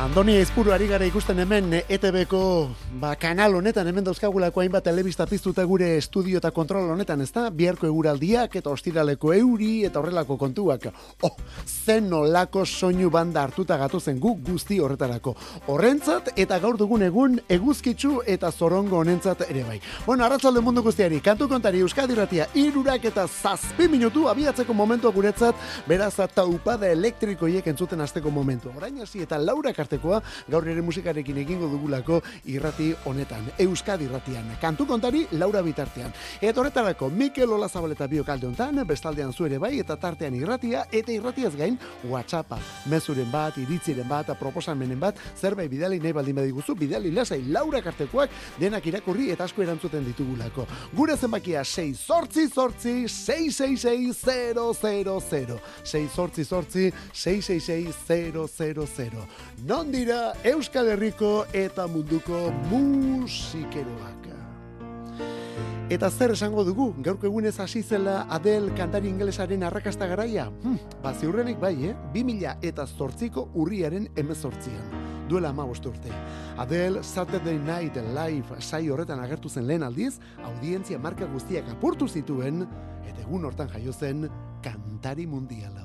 Andoni Ezpuru ari gara ikusten hemen ETB-ko kanal honetan, hemen dauzkagulako hainbat telebista piztuta gure estudio eta kontrol honetan, ezta? Biharko eguraldiak eta ostiraleko euri eta horrelako kontuak. Zen nolako soinu banda hartuta gatozen guk guzti horretarako. Horrentzat eta gaur dugun egun eguzkitsu eta zorongo honentzat ere bai. Bueno, arratsalde mundu guztiari, kantu kontari Euskadi Irratia 3:07 minutu abiatzeko momentua guretzat, beraz taupada elektrikoiek entzuten hasteko momentua. Orain hasi eta Laura artekoa gaur ere musikarekin egingo dugulako irrati honetan, Euskadi Irratian. Kantu kontari Laura bitartean. Eta horretarako Mikel Olazabaleta biokalde hontan, bestaldean zu ere bai, eta tartean irratia, eta irratiaz gain WhatsAppa. Mezuren bat, iritziren bat, proposamenen bat, zerbait bidali nahi baldin badiguzu, bidali lasai Laura kartekoak denak irakurri eta asko erantzuten ditugulako. Gure zenbakia 688-666-000. 688-666-000. Non dira Euskal Herriko eta munduko musikeroak. Eta zer esango dugu, gaurko egunez hasi zela Adele kantari ingelesaren arrakasta garaia? Ziurrenik bai, 2008ko urriaren 18an. Duela 15 urte. Adele Saturday Night Live saio horretan agertu zen lehen aldiz, audientzia marka guztiak apurtu zituen, eta egun hortan jaio zen kantari mundiala.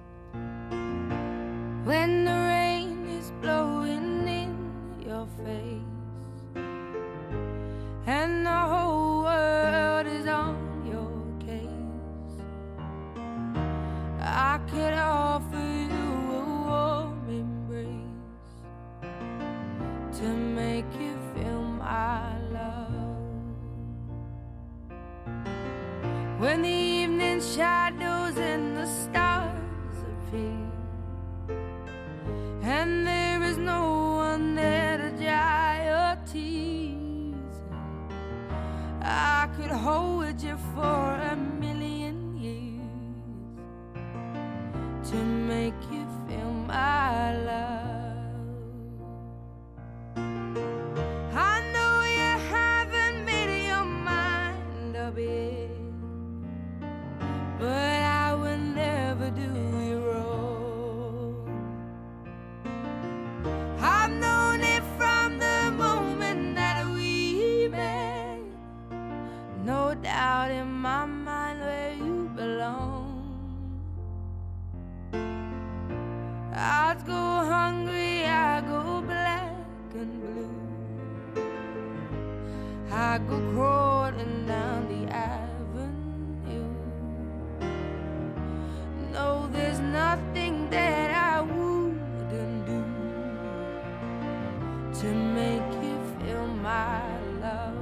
When the rain is blowing in your face and the whole world is on your case, I could offer you a warm embrace to make you feel my love. When the evening shadows and the stars appear and there is no one there to dry your tears, I could hold you for a million years to make you feel my love. I know you haven't made your mind up yet, but I will never do you wrong. I've known it from the moment that we met. No doubt in my mind where you belong. I'd go hungry, I go black and blue, I go crawling down the avenue. No, there's nothing that I wouldn't do to make you feel my love.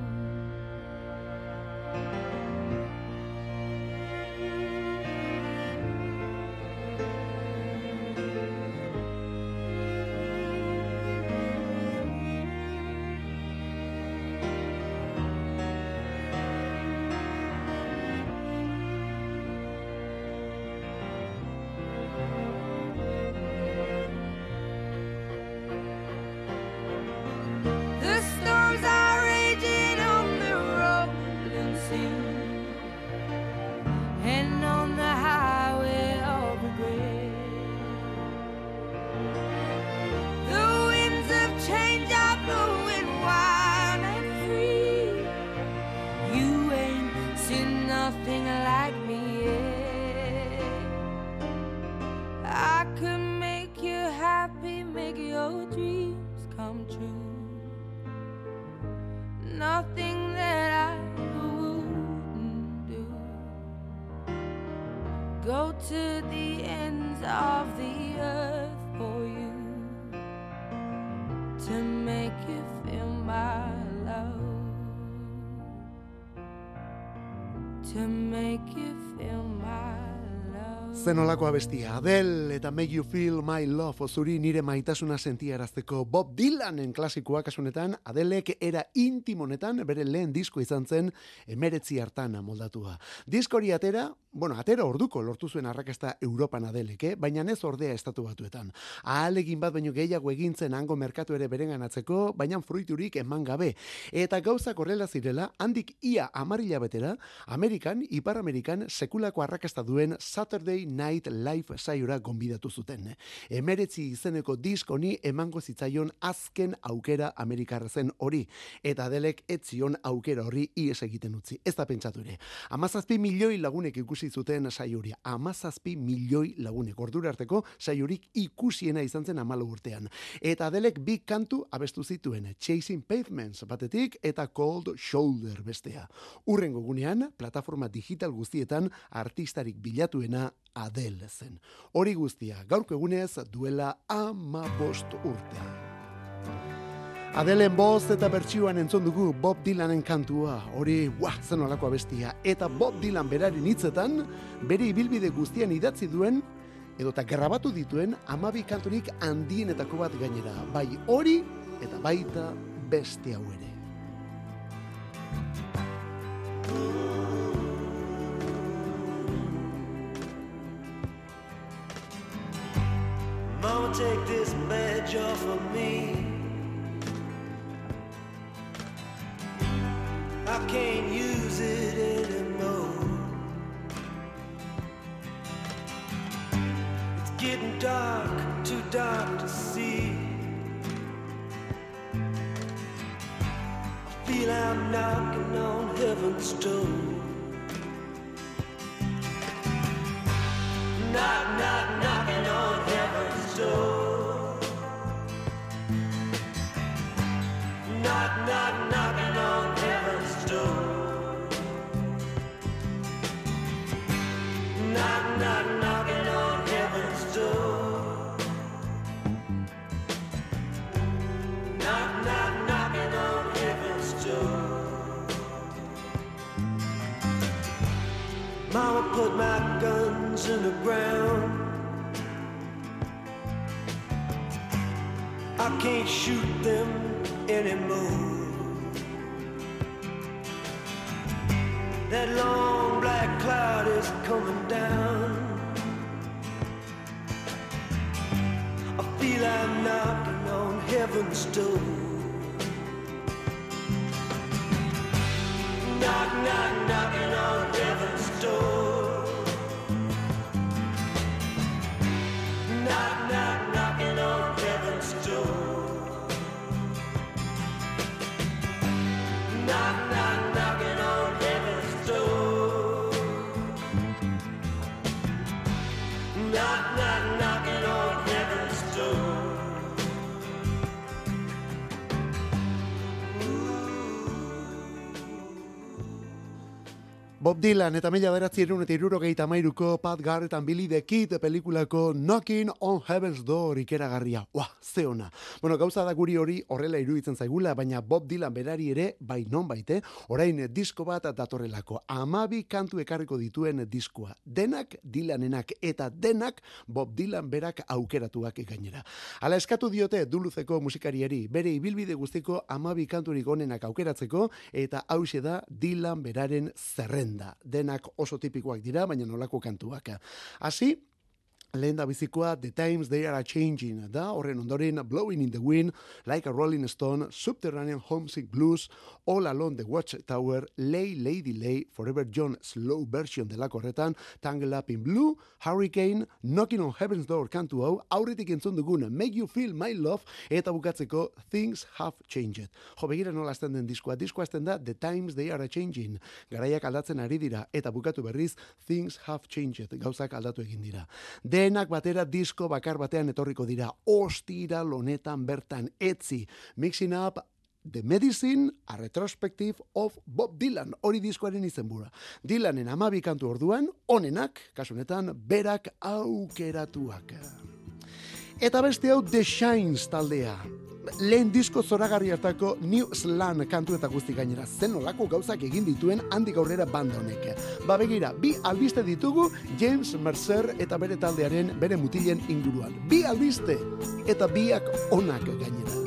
Nothing that I wouldn't do. Go to the ends of the earth for you to make you feel my love, to make you feel my love. Zenolako abestia, Adele eta Make You Feel My Love, zuri nire maitasuna sentiarazteko. Bob Dylanen klasikoa kasunetan, Adelek era intimonetan bere lehen disko izan zen 19 hartan moldatua. Diskori atera, atera orduko lortu zuen arrakasta Europan Adelek, baina ez ordea Estatu Batuetan. Ahalegin bat baino gehiago egintzen hango merkatu ere berenganatzeko, baina fruiturik eman gabe. Eta gauzak horrela zirela, handik ia 10 hilabetera, Ipar Amerikan sekulako arrakasta duen Saturday Night Live saiora gonbidatu zuten. 19 izeneko diskoni emango zitzaion azken aukera Amerikarra zen hori, eta Adelek ez zion aukera horri ies egiten utzi. Ez da pentsatu ere. 17 milioi lagunek ikusi zuten saioria. 17 milioi lagunek. Ordura arteko saiorik ikusiena izan zen 14 urtean. Eta Adelek 2 kantu abestu zituen. Chasing Pavements batetik eta Cold Shoulder bestea. Urrengo gunean, plataforma digital guztietan artistarik bilatuena Adele zen. Hori guztia, gaurko egunez duela 15 urte. Adelen boz eta bertsioan entzun dugu Bob Dylanen kantua, hori zen olako abestia, eta Bob Dylan beraren hitzetan, bere ibilbide guztian idatzi duen, edota grabatu dituen 12 kanturik handienetako bat gainera, bai hori eta baita beste hau ere. Mama, take this badge off of me. I can't use it anymore. It's getting dark, too dark to see. I feel I'm knocking on heaven's door. Knock, knock, knocking on heaven's door. Knock, knock, knocking on heaven's door. Knock, knock, knocking on heaven's door. Knock, knock, knocking on heaven's door. Mama put my guns in the ground. I can't shoot them anymore. That long black cloud is coming down. I feel I'm knocking on heaven's door. Knock, knock, knocking on heaven's door. Knock, knock, knocking on heaven's door. Knock, knock, knocking on heaven's door. Knock, knock, knocking on heaven's door. Bob Dylan eta 1973ko Pat Garrett and Billy the Kid pelikulako Knocking on Heaven's Door ikeragarria. Ze ona. Gauza da guri hori horrela iruditzen zaigula, baina Bob Dylan berari ere, bai non baite, orain disko bat datorrelako. 12 kantu ekarriko dituen diskoa. Denak Dylanenak eta denak Bob Dylan berak aukeratuak gainera. Hala eskatu diote Duluzeko musikariari, bere ibilbide guztiko 12 kanturik onenak aukeratzeko, eta hauxe da Dylan beraren zerrenda. Denak oso tipikoak dira, baina nolako kantuak. Hasi, lehen da bizikoa The Times They Are Changing da, horren ondoren Blowing in the Wind, Like a Rolling Stone, Subterranean Homesick Blues, All Along the Watchtower, Lay Lady Lay, Forever Young Slow Version delako horretan, Tangle Up in Blue, Hurricane, Knocking on Heaven's Door kantu hau, aurretik entzun dugun Make You Feel My Love, eta bukatzeko Things Have Changed. Begira nola azten den diskoa azten da The Times They Are Changing, garaiak aldatzen ari dira, eta bukatu berriz Things Have Changed, gauzak aldatu egin dira. Denak batera disko bakar batean etorriko dira, ostiral honetan bertan, etzi, Mixing Up The Medicine, a retrospective of Bob Dylan, hori diskoaren izenbura. Dylanen 12 kantu orduan, onenak, kasu honetan, berak aukeratuak. Eta beste hau The Shines taldea. Lehen disko zoragarri hartako New Slan kantu eta guzti gainera, zen olako gauzak egin dituen handik aurrera banda honek. Begira, 2 albiste ditugu James Mercer eta bere taldearen bere mutilen inguruan. 2 albiste eta biak onak gainera.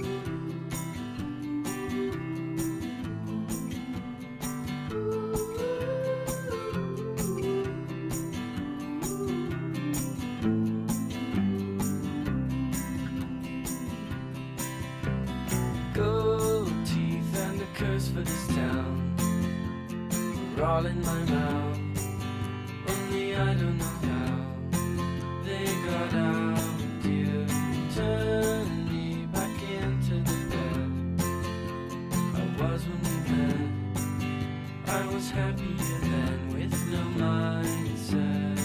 all in my mouth. Only I don't know how they got out. You turned me back into the bed I was when we met. I was happier then with no mindset.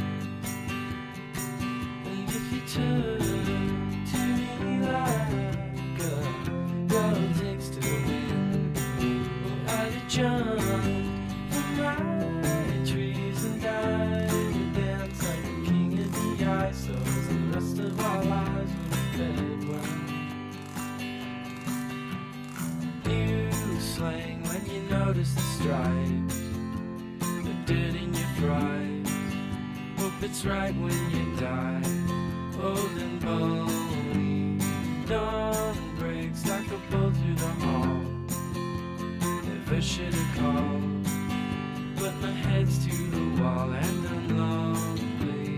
And if you turn to me like a girl takes to the wind, well, I'd have jumped from my trees and died and danced like a king in the ice. So the rest of our lives were dead. You slang when you notice the stripes, the dirt in your fries. Hope it's right when you die, old and bony. Dawn breaks like a bolt through the hall. Never should have called, but my head's to the wall and I'm lonely.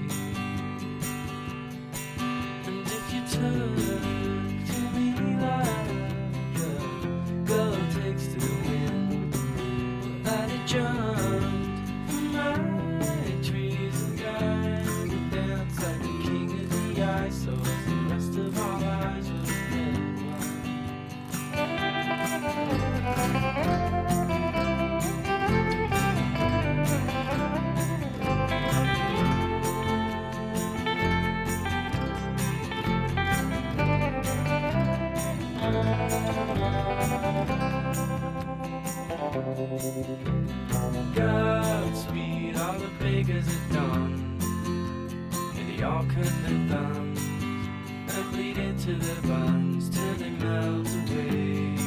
And if you turn to me like a girl takes to the wind, well, I'd have jumped from my trees and died and danced like a king in the ice. So the rest of our lives was dead. Godspeed, all the beggars at dawn, and they all cut their thumbs and bleed into their buns till they melt away.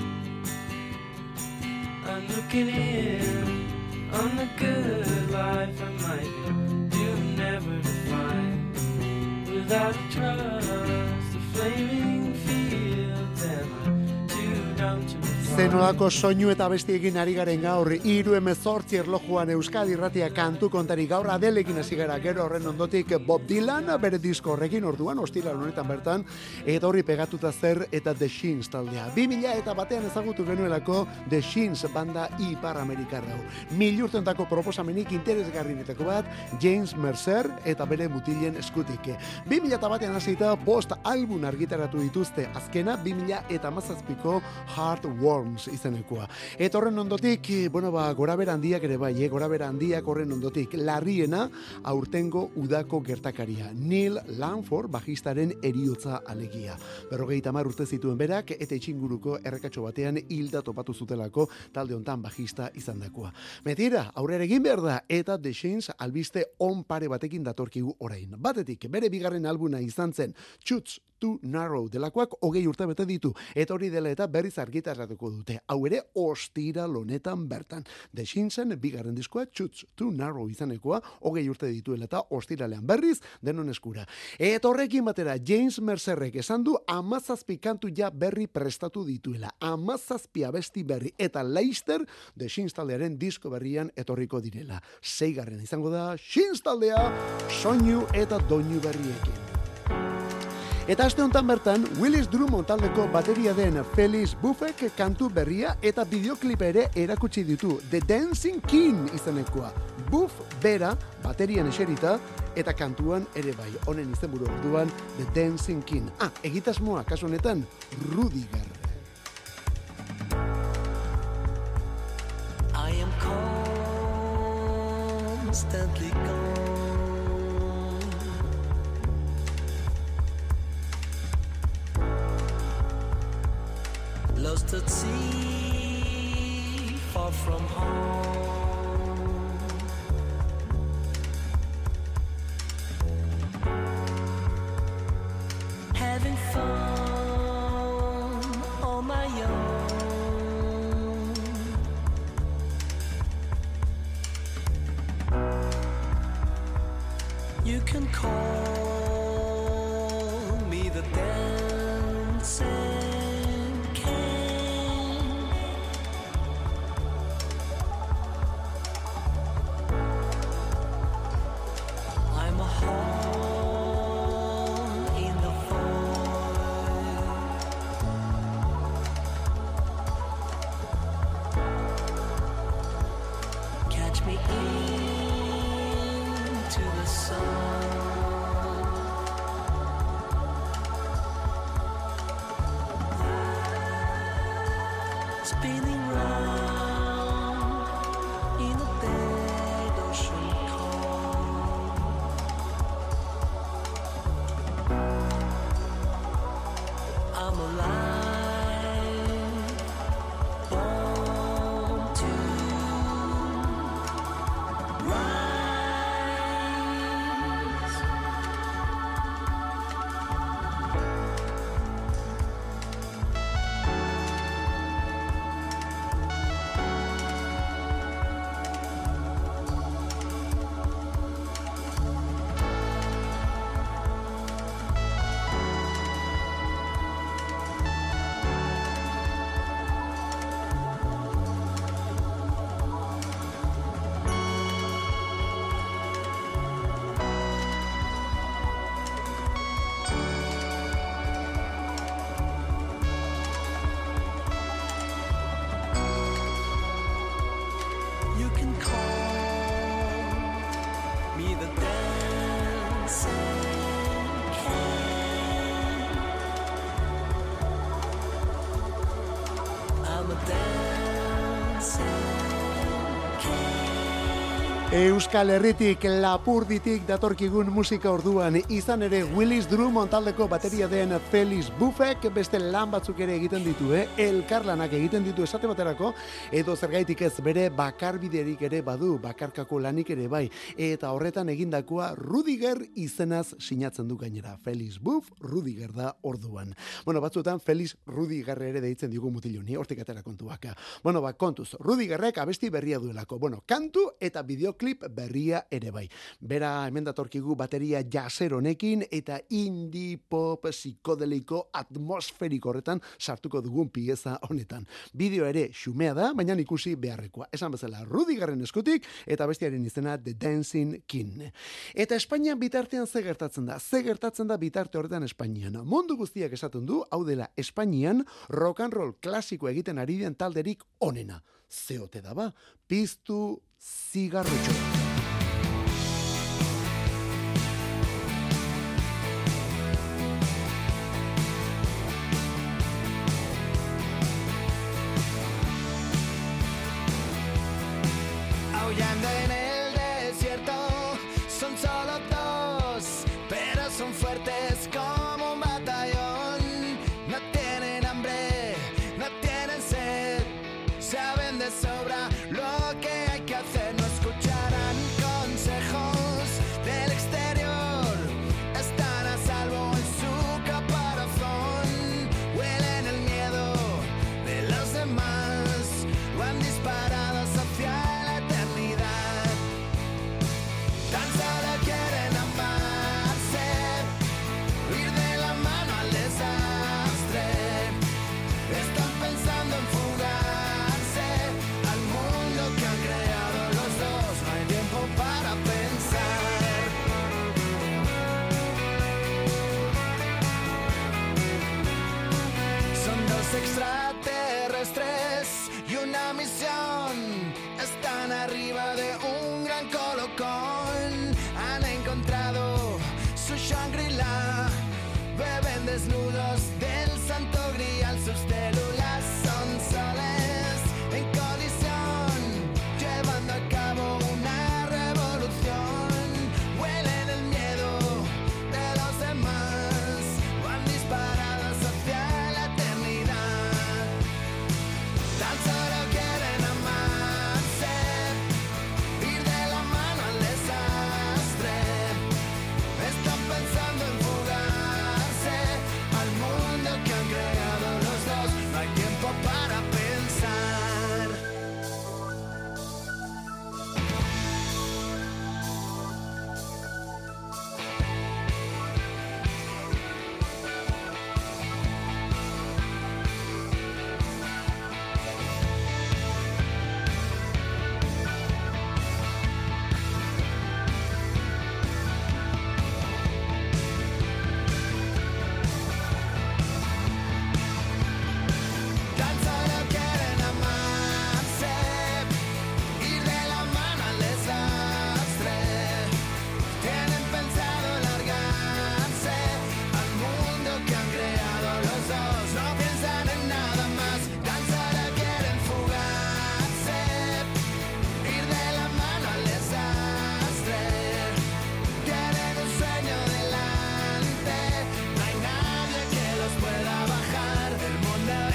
I'm looking in on the good life I might do never to find without a trust, the flaming fields and I'm too dumb to Zenolako soinu eta bestiekin ari garen gaur, 3:18 erlojuan Euskadi Irratia kantu kontari gaur Adelekin hasi gara, gero horren ondotik Bob Dylan bere disko horrekin orduan ostiral honetan bertan eta horri pegatuta zer eta The Shins taldea. 2001 ezagutu genuelako The Shins banda Ipar Amerikarra. Milurtentako proposamenik interesgarrienetako bat James Mercer eta bere mutilen eskutik. 2001 hasita 5 album argitaratu dituzte, azkena 2017ko Heartworms izenekoa. Eta horren ondotik, gorabera handiak ere bai, gorabera handiak horren ondotik, larriena aurtengo udako gertakaria. Neil Langford bajistaren eriotza alegia. 50 urte zituen berak eta itxinguruko errekatxo batean hilda topatu zutelako talde hontan bajista izandakoa. Metira, aurrera egin behar da eta The Shins albiste on pare batekin datorkigu orain. Batetik, bere bigarren albuna izan zen Chutes Too Narrow delakoak 20 urte bete ditu, eta hori dela eta berriz argitaratuko dute. Hau ere ostiral honetan bertan. The Shinsen bigarren diskoa Chutes Too Narrow izanekoa 20 urte dituela eta ostiralean berriz denon eskura. Eta horrekin batera James Mercerrek esan du 17 kantu ja berri prestatu dituela. 17 abesti berri eta Leicester The Shins taldearen disko berrian etorriko direla. 6. izango da Shins taldea soinu eta doinu berriekin. Eta aste honetan bertan, Willis Drummond taldeko bateria den Felix Buffek kantu berria eta bideoklipa ere erakutsi ditu. The Dancing King izenekoa. Buff bera baterian eserita eta kantuan ere bai. Honen izenburu orduan The Dancing King. Egitasmoa kasu honetan Rudiger. I am constantly gone. Lost at sea, far from home. Having fun on my own. You can call me the dancing. Spinning round in a dead ocean calm. I'm alive, born to rise. You can call me the dancing king. I'm a dancing king. Euskal Herritik, Lapurditik datorkigun musika orduan, izan ere Willis Drummond taldeko bateria den Felix Buffek beste lan batzuk ere egiten ditu, elkarlanak egiten ditu esate baterako, edo zergaitik ez bere bakarbiderik ere badu, bakarkako lanik ere bai, eta horretan egindakoa Rudiger izenaz sinatzen du gainera. Felix Buff, Rudiger da orduan. Bueno, batzuetan Felix Rudiger ere deitzen digu mutiloni, hortik atera kontuak. Bueno, kontuz, Rudigerrek abesti berria duelako. Bueno, kantu eta bideoklip berria ere bai. Bera hemen datorkigu bateria jaser honekin eta indie pop psikodeliko atmosferiko horretan sartuko dugun pieza honetan. Bideo ere xumea da, baina ikusi beharrekoa. Esan bezala Rudigerren eskutik eta bestiaren izena The Dancing King. Eta Espainian bitartean ze gertatzen da? Ze gertatzen da bitarte horretan Espainian? Mundu guztiak esaten du, hau dela Espainian rock and roll klasiko egiten ari den talderik onena. Zeote da ba, piztu zigarretxo. Aullando en el desierto, son solo dos, pero son fuertes como un batallón. No tienen hambre, no tienen sed, saben de sobra lo que hay que hacer. No escucharán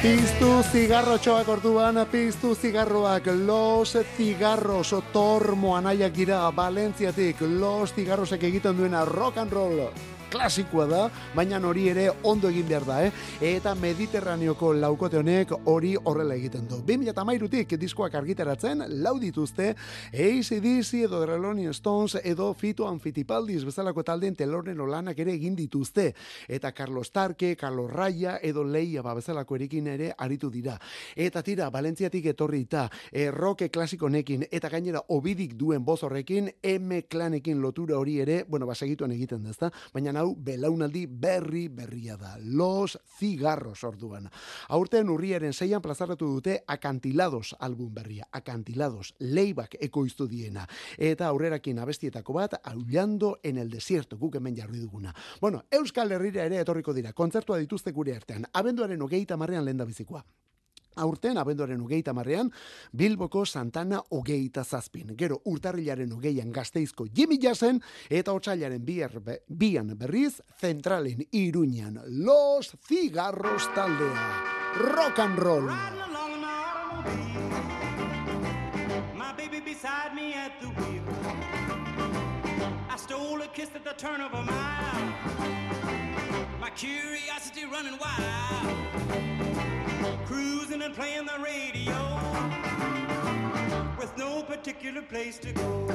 Piztu zigarrotxoak orduan, piztu zigarroak, los cigarros, Tormo anaiak dira, Valentziatik, los cigarrosek egiten duena rock and roll klasikoa da, baina hori ere ondo egin behar da, Eta Mediterraneoko laukote honek hori horrela egiten du. 2013tik diskoak argitaratzen, lau dituzte, AC/DC edo The Rolling Stones edo Fito and Fitipaldis bezalako taldeen teloren olanak ere egin dituzte. Eta Carlos Tarque, Carlos Raya edo Leia bezalako erekin ere aritu dira. Eta tira, Valentziatik etorri eta rock klasiko nekin, eta gainera obidik duen boz horrekin, M-klanekin lotura hori ere, segituan egiten da, ezta? Baina hau belaunaldi berria da. Los Cigarros orduan. Aurten urriaren 6an plazaratu dute Acantilados album berria. Acantilados, Leibak ekoiztu diena. Eta aurrerakin abestietako bat, Aullando en el desierto, guk hemen jarri duguna. Euskal Herrira ere etorriko dira. Kontzertua dituzte gure artean. Abenduaren 30 lehendabizikoa. Aurten, abenduaren 30 Bilboko Santana 27. Gero, urtarrilaren 20an Gasteizko Jimmy Jazzen, eta otsailaren 2an berriz, Zentralen Iruñan. Los Cigarros taldea. Rock and roll. My baby beside me at the wheel. I stole a kiss at the turn of a mile. My curiosity running wild. Cruising and playing the radio with no particular place to go.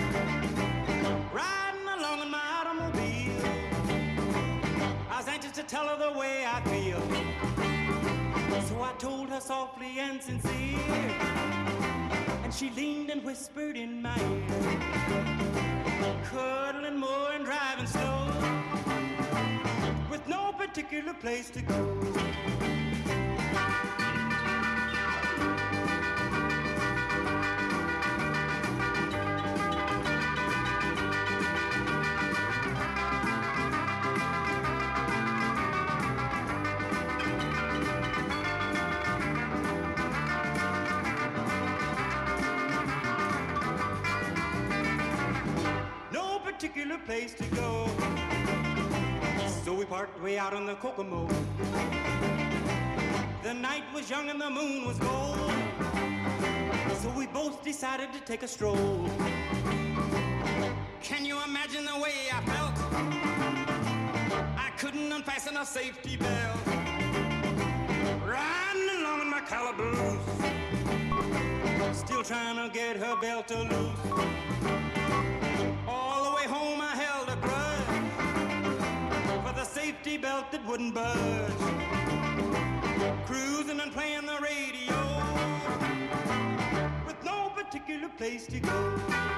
Riding along in my automobile, I was anxious to tell her the way I feel. So I told her softly and sincere, and she leaned and whispered in my ear, cuddling more and driving slow with no particular place to go. Particular place to go. So we parked way out on the Kokomo. The night was young and the moon was gold. So we both decided to take a stroll. Can you imagine the way I felt? I couldn't unfasten a safety belt. Riding along in my calaboose, still trying to get her belt to loose. All the way home I held a grudge for the safety belt that wouldn't budge. Cruising and playing the radio with no particular place to go.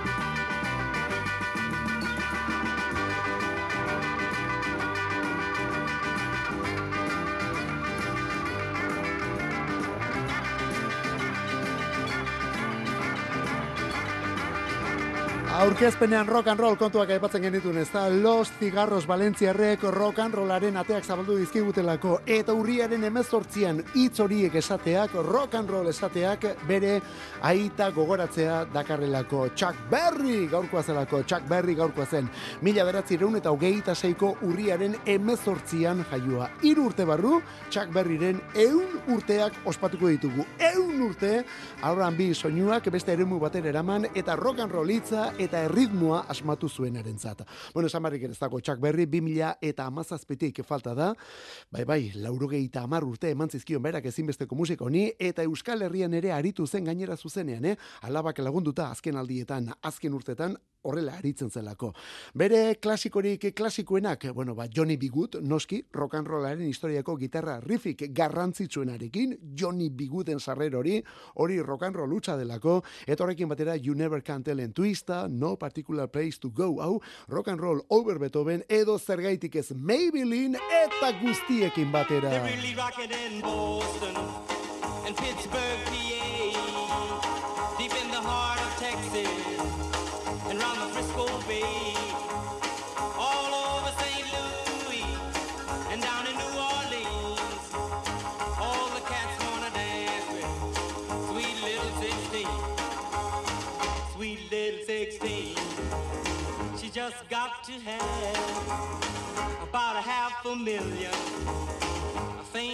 Aurkezpenean rock and roll kontuak aipatzen genituen, ez da, Los Cigarros Valentziarrek rock and rollaren ateak zabaldu dizkigutelako, eta urriaren 18an hitz horiek esateak, rock and roll esateak, bere aita gogoratzea dakarrelako. Chuck Berry gaurkoa zelako, Chuck Berry gaurkoa zen, 1926ko urriaren 18an jaioa. 3 urte barru, Chuck Berryren 100 urteak ospatuko ditugu. 100 urte, R&B soinuak beste eremu batera eraman, eta rock and roll hitza eta erritmoa asmatu zuenarentzat. Esan barrik ez dago Chuck Berry 2017tik falta da. Bai, 90 urte eman zizkion berak ezinbesteko musika honi, eta Euskal Herrian ere aritu zen gainera zuzenean, alabak lagunduta azken aldietan, azken urtetan, horrela aritzen zelako. Bere klasikoenak, Johnny B. Good, noski, rock and rollaren historiako gitarra riffik garrantzitsuenarekin, Johnny B. Gooden sarrer hori rock and roll hutsa delako, eta horrekin batera You Never Can Tell en Twista, No Particular Place to Go, hau, rock and roll over Beethoven, edo zergaitik ez Maybelline, eta guztiekin batera. They're really rocking in Boston and Pittsburgh, PA, deep in the heart of Texas and round the Frisco Bay, all over St. Louis and down in New Orleans. All the cats wanna dance with sweet little 16. Sweet little 16. She just got to have about $500,000 thing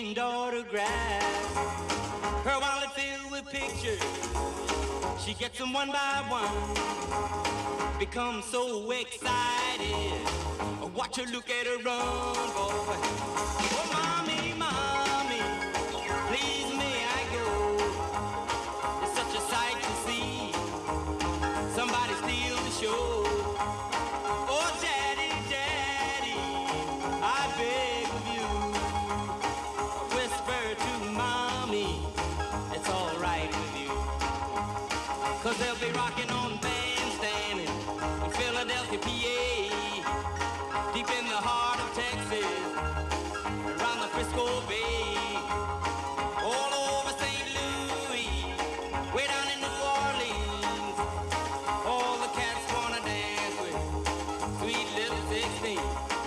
framed autographs. Her wallet filled with pictures. She gets them one by one. Becomes so excited. Watch her look at her run, boy. Oh, mommy, mommy, please may I go? It's such a sight to see. Somebody steal the show. Oh, daddy, daddy, I beg of you. Whisper to mommy, it's all right with you. 'Cause they'll be rocking on Bandstand in Philadelphia, PA. Deep in the heart of Texas, around the Frisco Bay, all over St. Louis, way down in New Orleans, all the cats wanna dance with sweet little 16.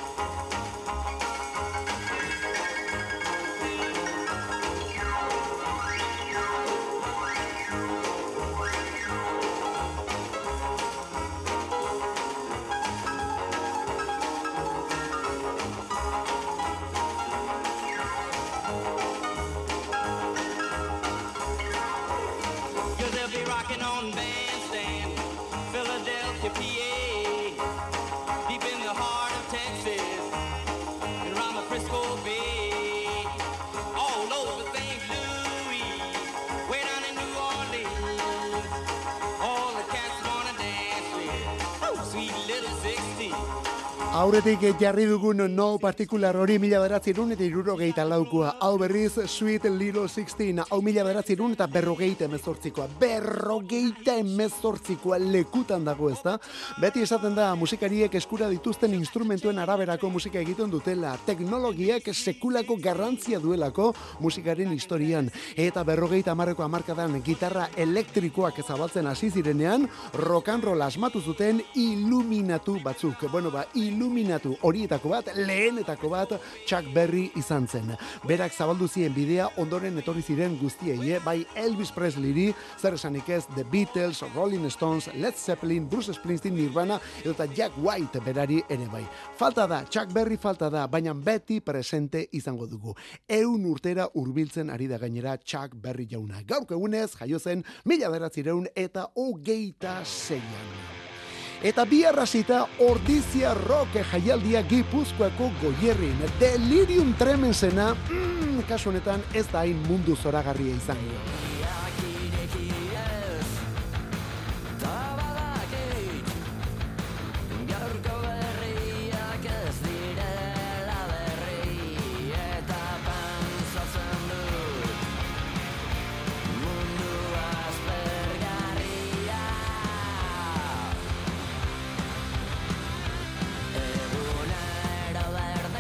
On Bandstand, Philadelphia, PA, deep in the heart of Texas, and around the Frisco Bay, all over St. Louis, way down in New Orleans, all the cats wanna dance with sweet little 16. Aurretik jarri dugun no partikular hori 1974 hau berriz Sweet Little 16, hau 1978 berrogeita lekutan dago, ez da? Beti esaten da musikariek eskura dituzten instrumentuen araberako musika egiten dutela, teknologiak sekulako garrantzia duelako musikaren historian, eta 50 hamarkadan gitarra elektrikoak zabaltzen hasi zirenean, rock and roll asmatu zuten iluminatu batzuk. Bueno, iluminatu horietako bat, lehenetako bat Chuck Berry izan zen. Berak zabaldu zien bidea, ondoren etorri ziren guztiei, bai Elvis Presleyri, zer esanik ez, The Beatles, Rolling Stones, Led Zeppelin, Bruce Springsteen, Nirvana, eta Jack White berari ere bai. Falta da, Chuck Berry falta da, baina beti presente izango dugu. 100 urtera hurbiltzen ari da gainera Chuck Berry jauna. Gaurko egunez, jaio zen 1926. Eta bi arrasita Ordizia Rock jaialdia Gipuzkoako Goierrin. Delirium Tremensena, kasu honetan ez da hain mundu zoragarria izango.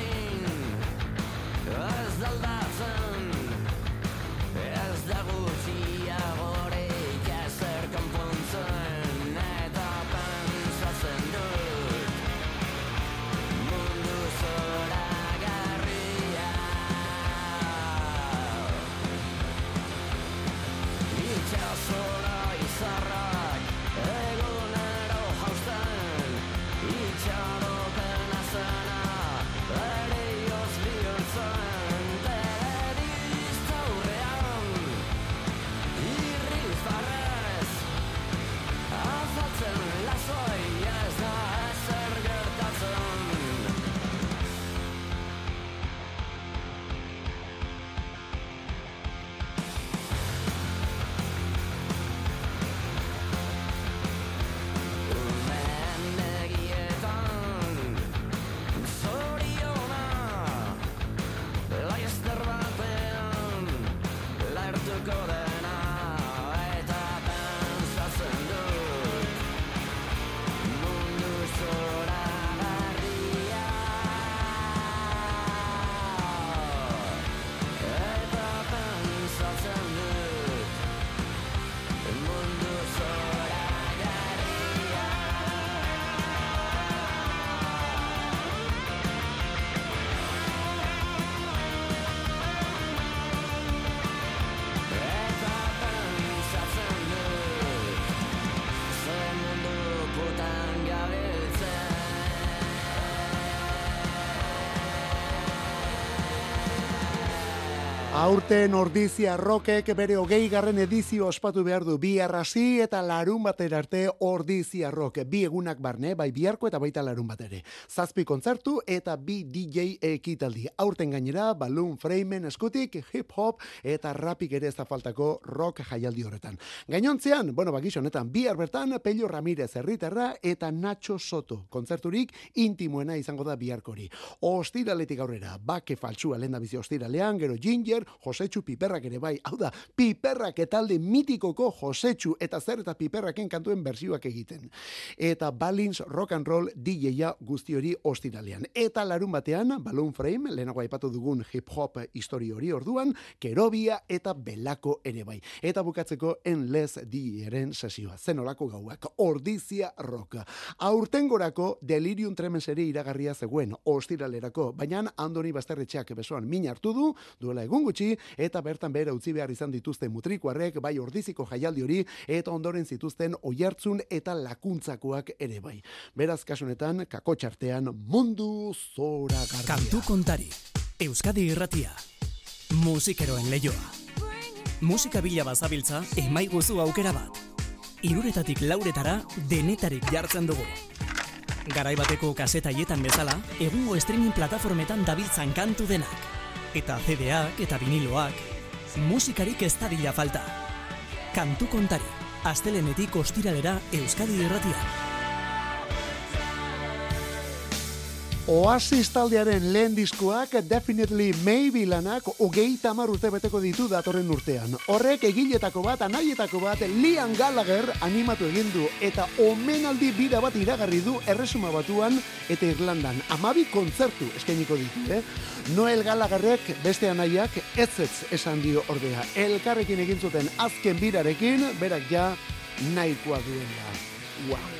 Ez da gutxi Aurten Ordizia Rockek bere 20. edizio ospatu behar du. Bihar hasi eta larun batera arte Ordizia Rock. 2 egunak barne, bai biharko eta baita larun batere. 7 kontzertu eta 2 DJ ekitaldi. Aurten gainera, Balloon Framen eskutik, hip hop eta rapik ere ez da faltako rock jaialdi horretan. Gainontzean, gixo honetan, bihar bertan Pello Ramirez herritarra eta Nacho Soto. Kontzerturik intimoena izango da biharkori. Ostiraletik aurrera, Bake Faltsua lehendabizi ostiralean, gero Ginger, Josetxu Piperrak ere bai, hau da, Piperrak etalde mitikoko Josetxu eta zer eta Piperraken kantuen bersioak egiten. Eta Balins Rock and Roll DJ-a guzti hori ostiralean. Eta larun batean, Balloon Frame, lehenago aipatu dugun hip hop histori hori orduan, Kerobia eta Belako ere bai. Eta bukatzeko Endless DJ-eren sesioa. Zenolako gauak, Ordizia Rock. Aurtengorako Delirium Tremens ere iragarria zegoen ostiralerako, baina Andoni Basterretxeak besoan min hartu du, duela egun gutxi, eta bertan behera utzi behar izan dituzte mutrikuarrek, bai Ordiziko jaialdi hori, eta ondoren zituzten Oiartzun eta Lakuntzakoak ere bai. Beraz, kasunetan, kakotxartean mundu zoragarria. Kantu kontari, Euskadi Irratia, musikeroen leioa. Musika bila bazabiltza, emaiguzu aukera bat. 3 lauretara denetarik jartzen dugu. Garaibateko kasetaietan bezala, egungo streaming plataformetan dabiltzan kantu denak. Eta CD-ak eta viniloak, musikarik ez dadila falta. Kantu kontari, astelenetik ostiralera Euskadi Irratian. Oasis taldearen lehen diskoak Definitely Maybe lanak 30 urte beteko ditu datorren urtean. Horrek egiletako bat, anaietako bat, Liam Gallagher animatu egin du eta omenaldi bira bat iragarri du Erresuma Batuan eta Irlandan. 12 kontzertu eskainiko ditu, Noel Gallagherrek beste anaiak ez esan dio ordea. Elkarrekin egin zuten azken birarekin, berak ja nahikoa duela. Wow.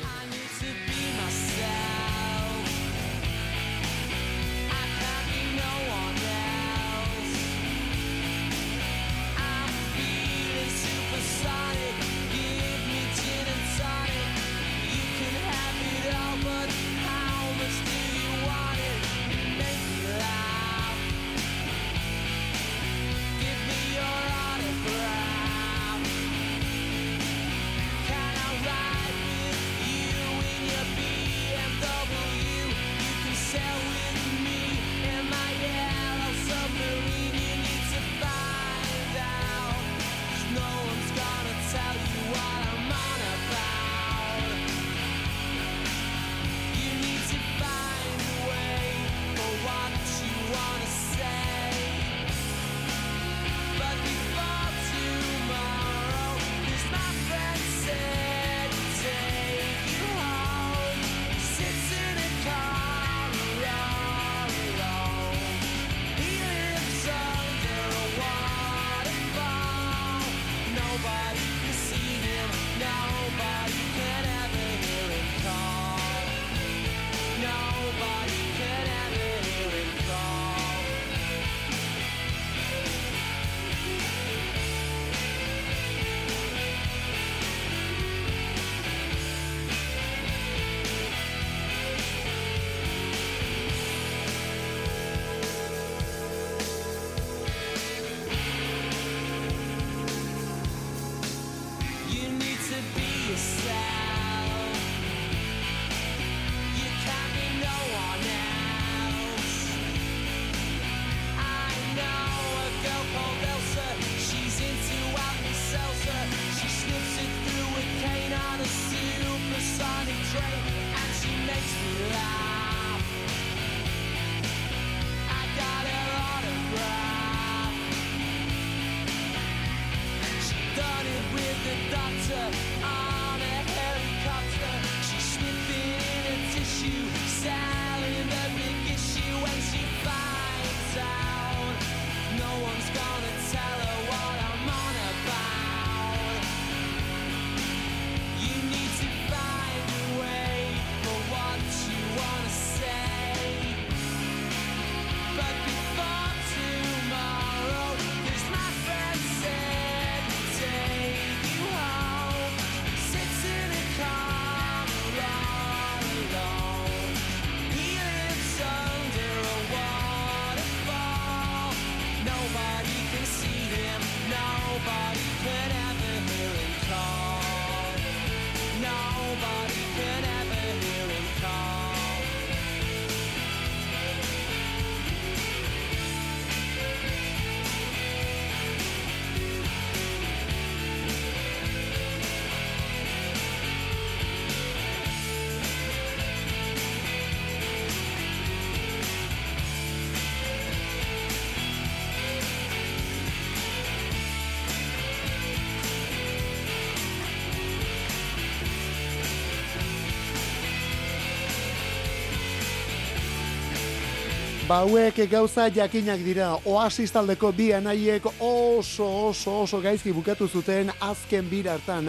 Hauek gauza jakinak dira. Oasis taldeko bi anaiek oso gaizki bukatu zuten azken bira hartan.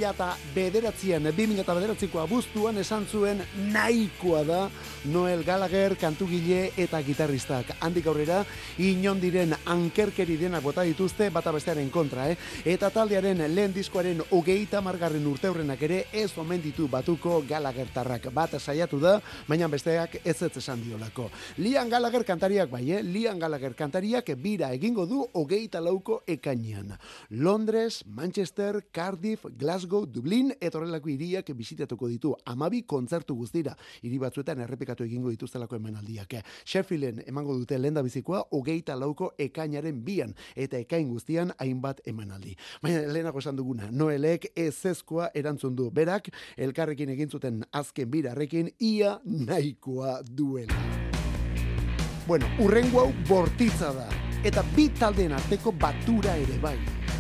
2009ko abuztuan esan zuen nahikoa da Noel Gallagher kantugile eta gitarristak. Handik aurrera inondiren ankerkeri denak bota dituzte bata bestearen kontra, Eta taldearen lehen diskoaren 30. urteurrenak ere ez omen ditu batuko Gallaghertarrak. Bat saiatu da, baina besteak ez esan diolako. Liam Gallagher kantariak bai, Liam Gallagher kantariak bira egingo du 24ko ekainean. Londres, Manchester, Cardiff, Glasgow, Dublin eta horrelako hiriak bisitatuko ditu. 12 kontzertu guztira. Hiri batzuetan errepikatu egingo dituztelako emanaldiak. Sheffielden emango dute lehendabizikoa 24ko ekainaren 2 eta ekain guztian hainbat emanaldi. Baina lehenago esan duguna, Noelek ezezkoa erantzun du. Berak elkarrekin egin zuten azken birarrekin ia nahikoa duela. Bueno, urrengo hau bortitza da, eta bi taldeen arteko batura ere bai.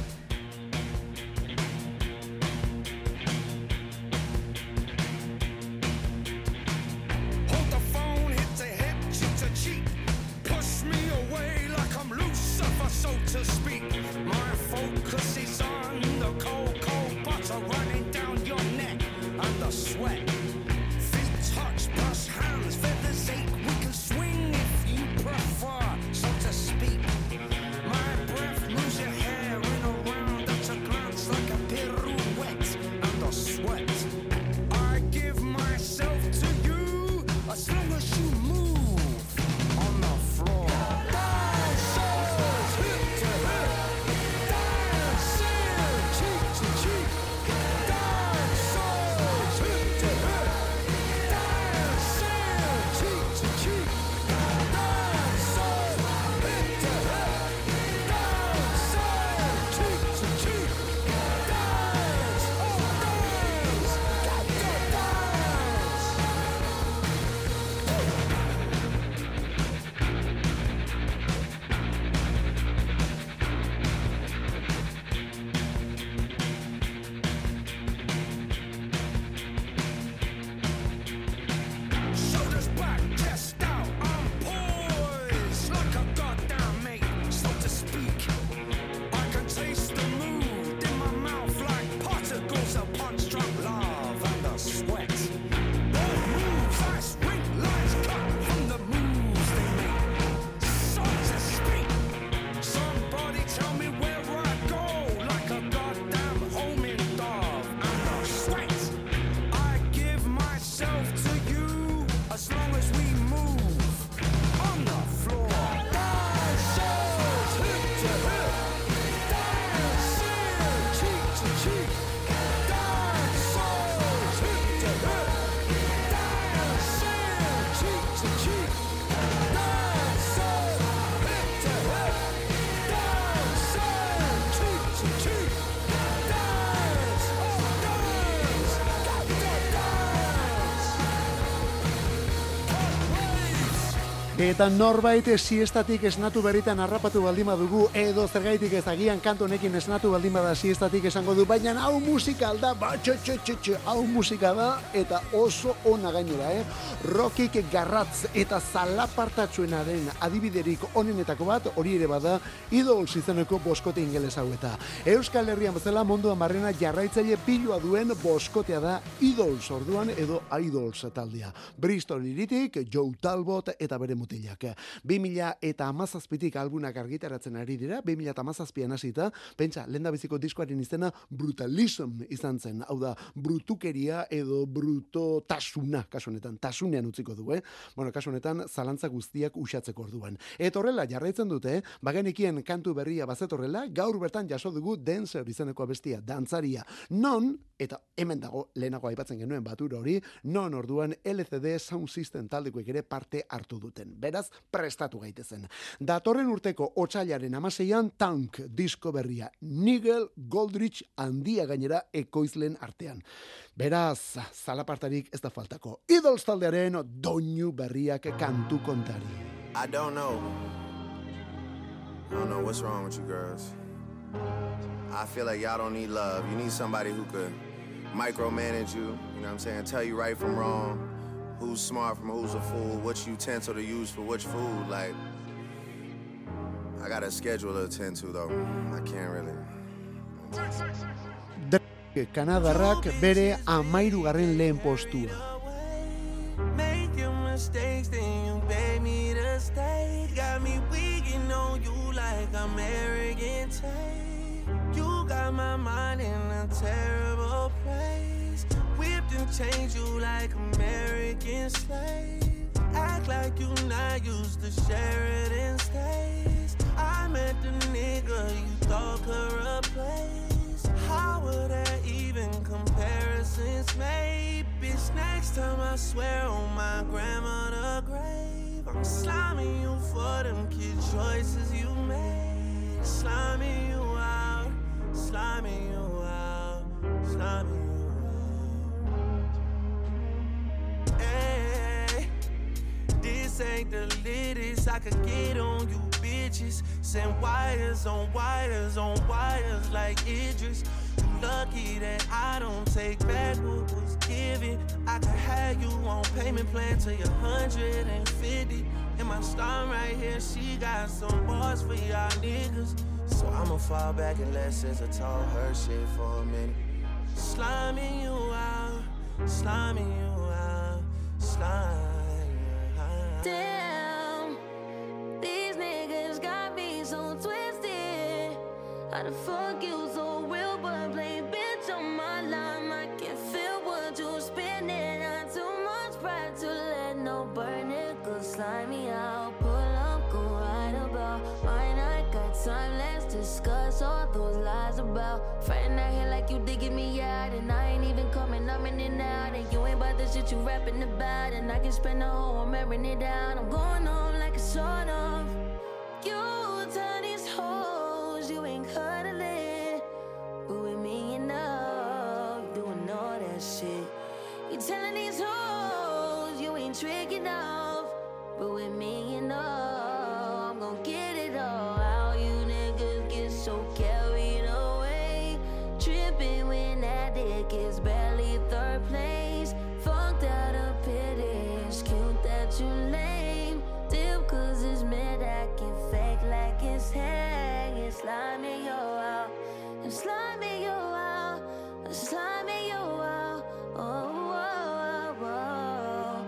Eta norbait siestatik esnatu berritan harrapatu baldin badugu, edo zergaitik ez agian kantu honekin esnatu baldin bada siestatik esango du, baina hau musika da, hau musika da, eta oso ona gainera, Rockik garratz eta zalapartatsuenaren adibiderik onenetako bat, hori ere bada, Idols izeneko boskote ingeles hau eta. Euskal Herrian bezala munduan barrena jarraitzaile pilua duen boskotea da Idols orduan edo Idols taldea. Bristol hiritik, Joe Talbot eta bere mutilak. 2017tik albunak argitaratzen ari dira, 2017an hasita, pentsa, lehendabiziko diskoaren izena Brutalism izan zen, hau da, brutukeria edo brutotasuna, kasu honetan, tasunean utziko du, Bueno, kasu honetan, zalantza guztiak usatzeko orduan. Eta horrela, jarraitzen dute, bagenekien kantu berria bazetorrela, gaur bertan jaso dugu Dancer izeneko abestia, dantzaria, non, eta hemen dago, lehenago aipatzen genuen batura hori, non orduan LCD Sound System taldekoek ere parte hartu duten. Beraz, prestatu gaitezen. Datorren urteko otsailaren 16an Tank disko berria. Nigel Godrich handia gainera ekoizlen artean. Beraz, zalapartarik ez da faltako. Idols taldearen doinu berriak kantu kontari. I don't know what's wrong with you girls. I feel like y'all don't need love. You need somebody who could micromanage you, you know what I'm saying, tell you right from wrong, who's smart from who's a fool, which utensil to use for which food. Like, I got a schedule to attend to, though. I can't really. Kanadarrak bere 13. lehen postua. Making mistakes, then you beg me to stay. Got me weaking on you like I'm arrogant. You got my mind in a terrible place. Whipped and changed you like American slave. Act like you not used to Sheridan stays. I met the nigga you thought could replace. How would that even comparisons made? Bitch, next time I swear on my grandmother's grave, I'm sliming you for them kid choices you made. Sliming you out, sliming you out, sliming you out. Hey, this ain't the latest I could get on you bitches. Send wires on wires on wires like Idris. You lucky that I don't take back what was given. I could have you on payment plan till you're 150. And my star right here, she got some bars for y'all niggas. So I'ma fall back and let SZA talk her shit for a minute. Sliming you out, sliming you out, sliming you out. Damn, these niggas got me so twisted. How the fuck you so real but plain bitch on my line? I can feel what you spinning. Not too much pride to let no burn niggas slime me out. Pull up, go right about mine. I got time, let's discuss all those lies about friend out here like you digging me out. And I ain't even coming, I'm in and out. And you ain't about the shit you rapping about. And I can spend the whole I'm airing it down. I'm going home like a sort of. You tell these hoes you ain't cuddling, but with me enough, doing all that shit. You telling these hoes you ain't tricking off, but with me enough, I'm gon' get it all. How you niggas get so carried away, tripping when that dick is barely third place. Fucked out of pity, it's cute that you lame. Dip cause it's mid acting fake like it's hang. It's sliming you out, it's sliming you out, it's sliming you out. Oh, oh, oh, oh.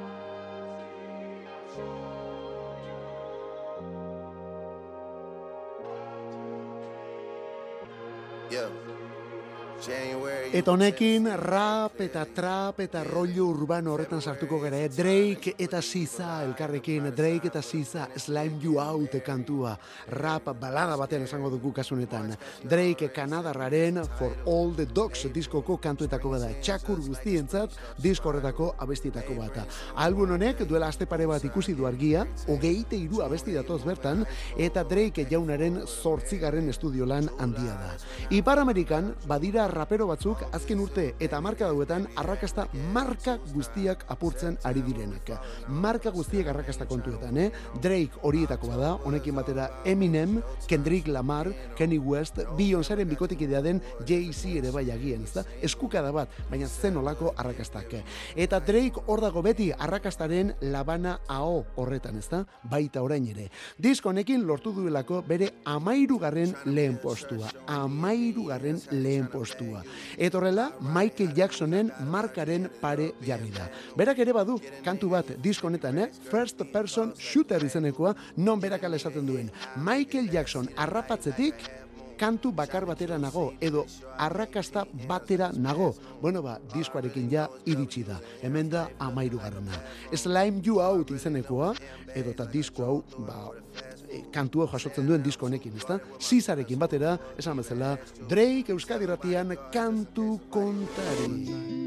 Yeah. January. Eta honekin rap eta trap eta rollo urbano horretan sartuko gara. Drake eta SZA elkarrekin, Drake eta SZA Slime You Out kantua. Rap balada batean esango dugu kasunetan. Drake Kanadarraren For All the Dogs diskoko kantuetako bada. Txakur guztientzat disko horretako abestietako bata. Album honek duela aste pare bat ikusi du argia, 23 abesti datoz bertan, eta Drake jaunaren 8. estudio lan handia da. Ipar Amerikan badira rapero batzuk azken urte eta marka dauetan arrakasta marka guztiak apurtzen ari direnak. Marka guztiak arrakasta kontuetan, Drake horietako bada, honekin batera Eminem, Kendrick Lamar, Kanye West, Beyoncéren bikotekidea den Jay-Z ere bai agian, ezta? Eskukada bat, baina zen olako arrakastak. Eta Drake hor dago beti arrakastaren labana AO horretan, ezta? Baita orain ere. Disko honekin lortu duelako bere 13. lehen postua. 13. lehen postua. Eta horrela, Michael Jacksonen markaren pare jarri da. Berak ere badu, kantu bat disko honetan, First Person Shooter izenekoa, non berak ala esaten duen. Michael Jackson harrapatzetik kantu bakar batera nago, edo arrakasta batera nago. Bueno, diskoarekin ja iritsi da. Hemen da 13. Slime You Out izenekoa, edo eta disko hau, kantua jasotzen duen disko honekin, ezta? SZArekin batera, esan bezala, Drake Euskadi Irratian kantu kontari.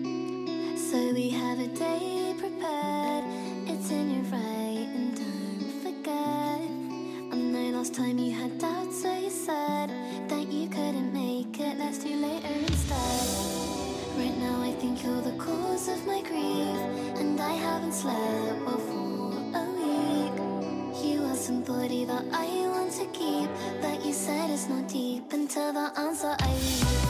So we have a day prepared, it's in your right and don't forget. And the last time you had doubts, so you said that you couldn't make it, let's do later instead. Right now I think you're the cause of my grief, and I haven't slept well for a week. You are somebody that I want to keep, but you said it's not deep until the answer I leave.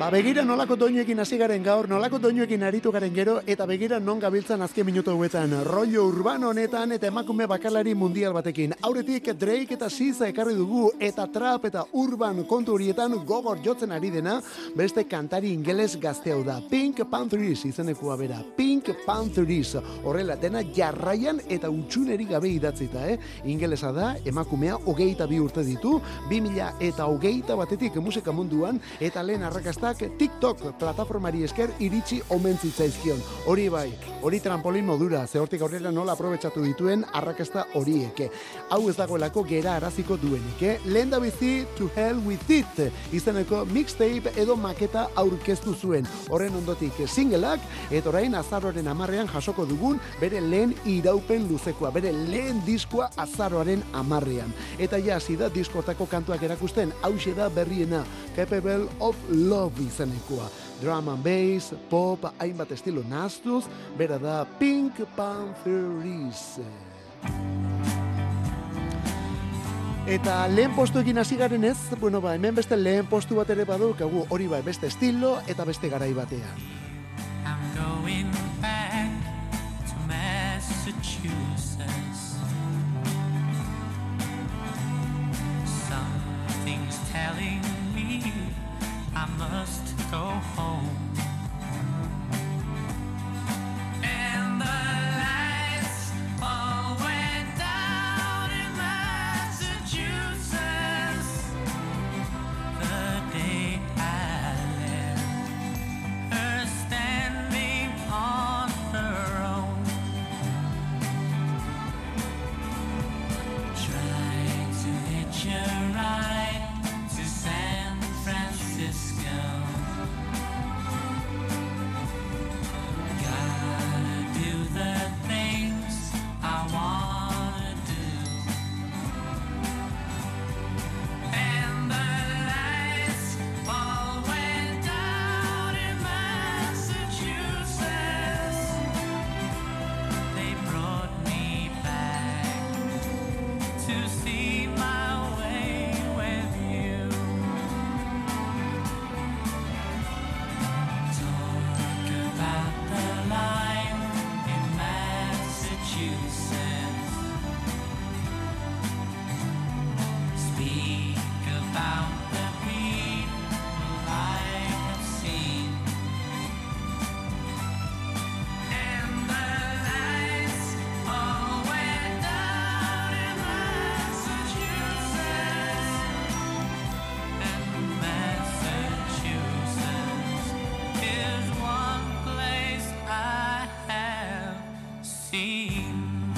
Begira nolako doinuekin hasi garen gaur, nolako doinuekin aritu garen gero, eta begira non gabiltzan azken minutu hauetan. Rollo urbano honetan eta emakume bakalari mundial batekin. Aurretik Drake eta SZA ekarri dugu, eta trap eta urban kontu horietan gogor jotzen ari dena, beste kantari ingeles gazte hau da. Pink Panthers izenekua bera. Pink Panthers. Horrela, dena jarraian eta utxuneri gabe idatzita, Ingelesa da, emakumea 22 urte ditu, 2021 batetik musika munduan, eta lehen arrakastak TikTok plataformari esker iritsi omen zitzaizkion. Hori bai, hori trampolin modura, ze hortik aurrera nola aprobetxatu dituen arrakasta horiek. Hau ez dagoelako gera araziko duenik, Lehen da bizi To Hell With It izeneko mixtape edo maketa aurkeztu zuen. Horren ondotik singleak, eta orain azaroaren 10ean jasoko dugun bere lehen iraupen luzekoa, bere lehen diskoa azaroaren 10ean. Eta ja, hasi da diskortako kantuak erakusten, hauxe da berriena, Capable of Love izenekoa. Drum and bass, pop, hainbat estilo nahastuz, bera da Pink Panthers. Eta lehen postuekin hasi garen ez, hemen beste lehen postu bat ere badaukagu, hori bai, beste estilo eta beste garai batean. I'm going back to Massachusetts. Something's telling me I must go home. And the lights all went down in Massachusetts the day I left her standing on her own, trying to hitch a ride to San Francisco. Gotta do the things I wanna do, and the lights all went down in Massachusetts. They brought me back to see my way with you. Talk about the line in Massachusetts. Speak about the people I have seen. And the lights all went down in Massachusetts. And Massachusetts is one place I have seen.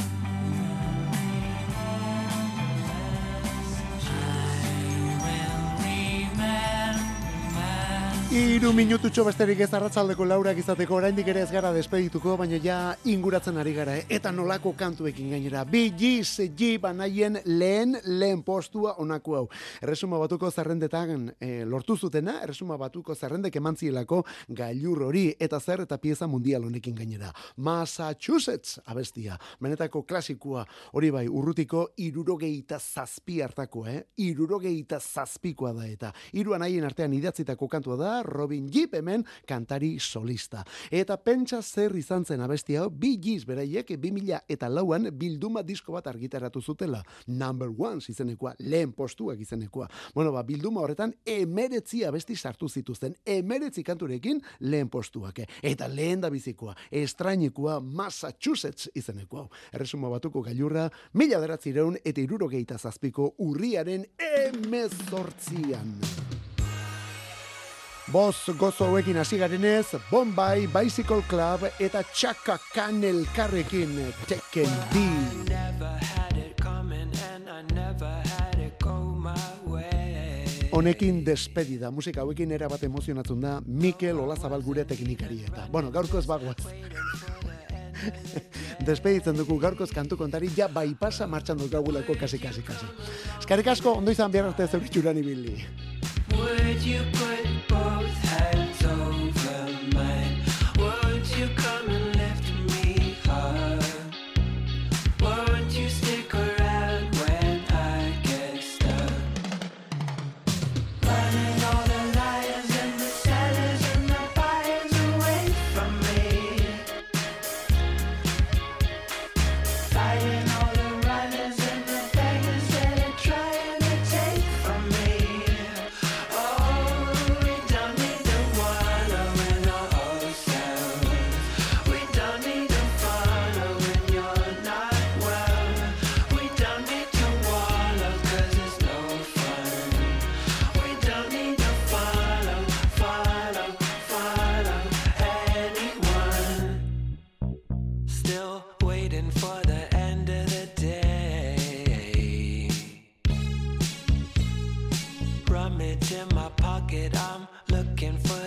Hiru minututxo besterik ez arratsaldeko laurak izateko, oraindik ere ez gara despedituko, baina ja inguratzen ari gara, eta nolako kantuekin gainera. Bee Gees banaien lehen postua onako hau. Erresuma Batuko zerrendetan lortu zutena, Erresuma Batuko zerrendek emantzielako gailur hori, eta zer eta pieza mundial honekin gainera. Massachusetts abestia, benetako klasikoa, hori bai, urrutiko 67 hartako, 67koa da eta. Hiru anaien artean idatzitako kantua da, Robin Gibb hemen kantari solista. Eta pentsa zer izan zen abestia hau, Bee Gees beraiek 2004an bilduma disko bat argitaratu zutela. Number One izenekoa, lehen postuak izenekoa. Bilduma horretan 19 abesti sartu zituzten, 19 kanturekin lehen postuak. Eta lehen da bizikoa, estrainikoa Massachusetts izenekoa. Erresuma Batuko gailurra 1967ko urriaren 18an. Boz gozo hauekin hasi garenez, Bombay Bicycle Club eta Chaka Khan elkarrekin Taken D. Honekin despedida, musika hauekin erabat emozionatzen da Mikel Olazabal gure teknikari eta. Gaurko ez bagoaz. Despeditzen dugu gaurkoz kantu kontari, ja baipasa martxan dut gaugulako kasi. Eskerrik asko, ondo izan behar arte zeuritxuran ibili. Would you put both hands over mine? Would you come and lift me up? Won't you stick around when I get stuck? Running all the liars and the sellers. still waiting for the end of the day. Rummage in my pocket, I'm looking for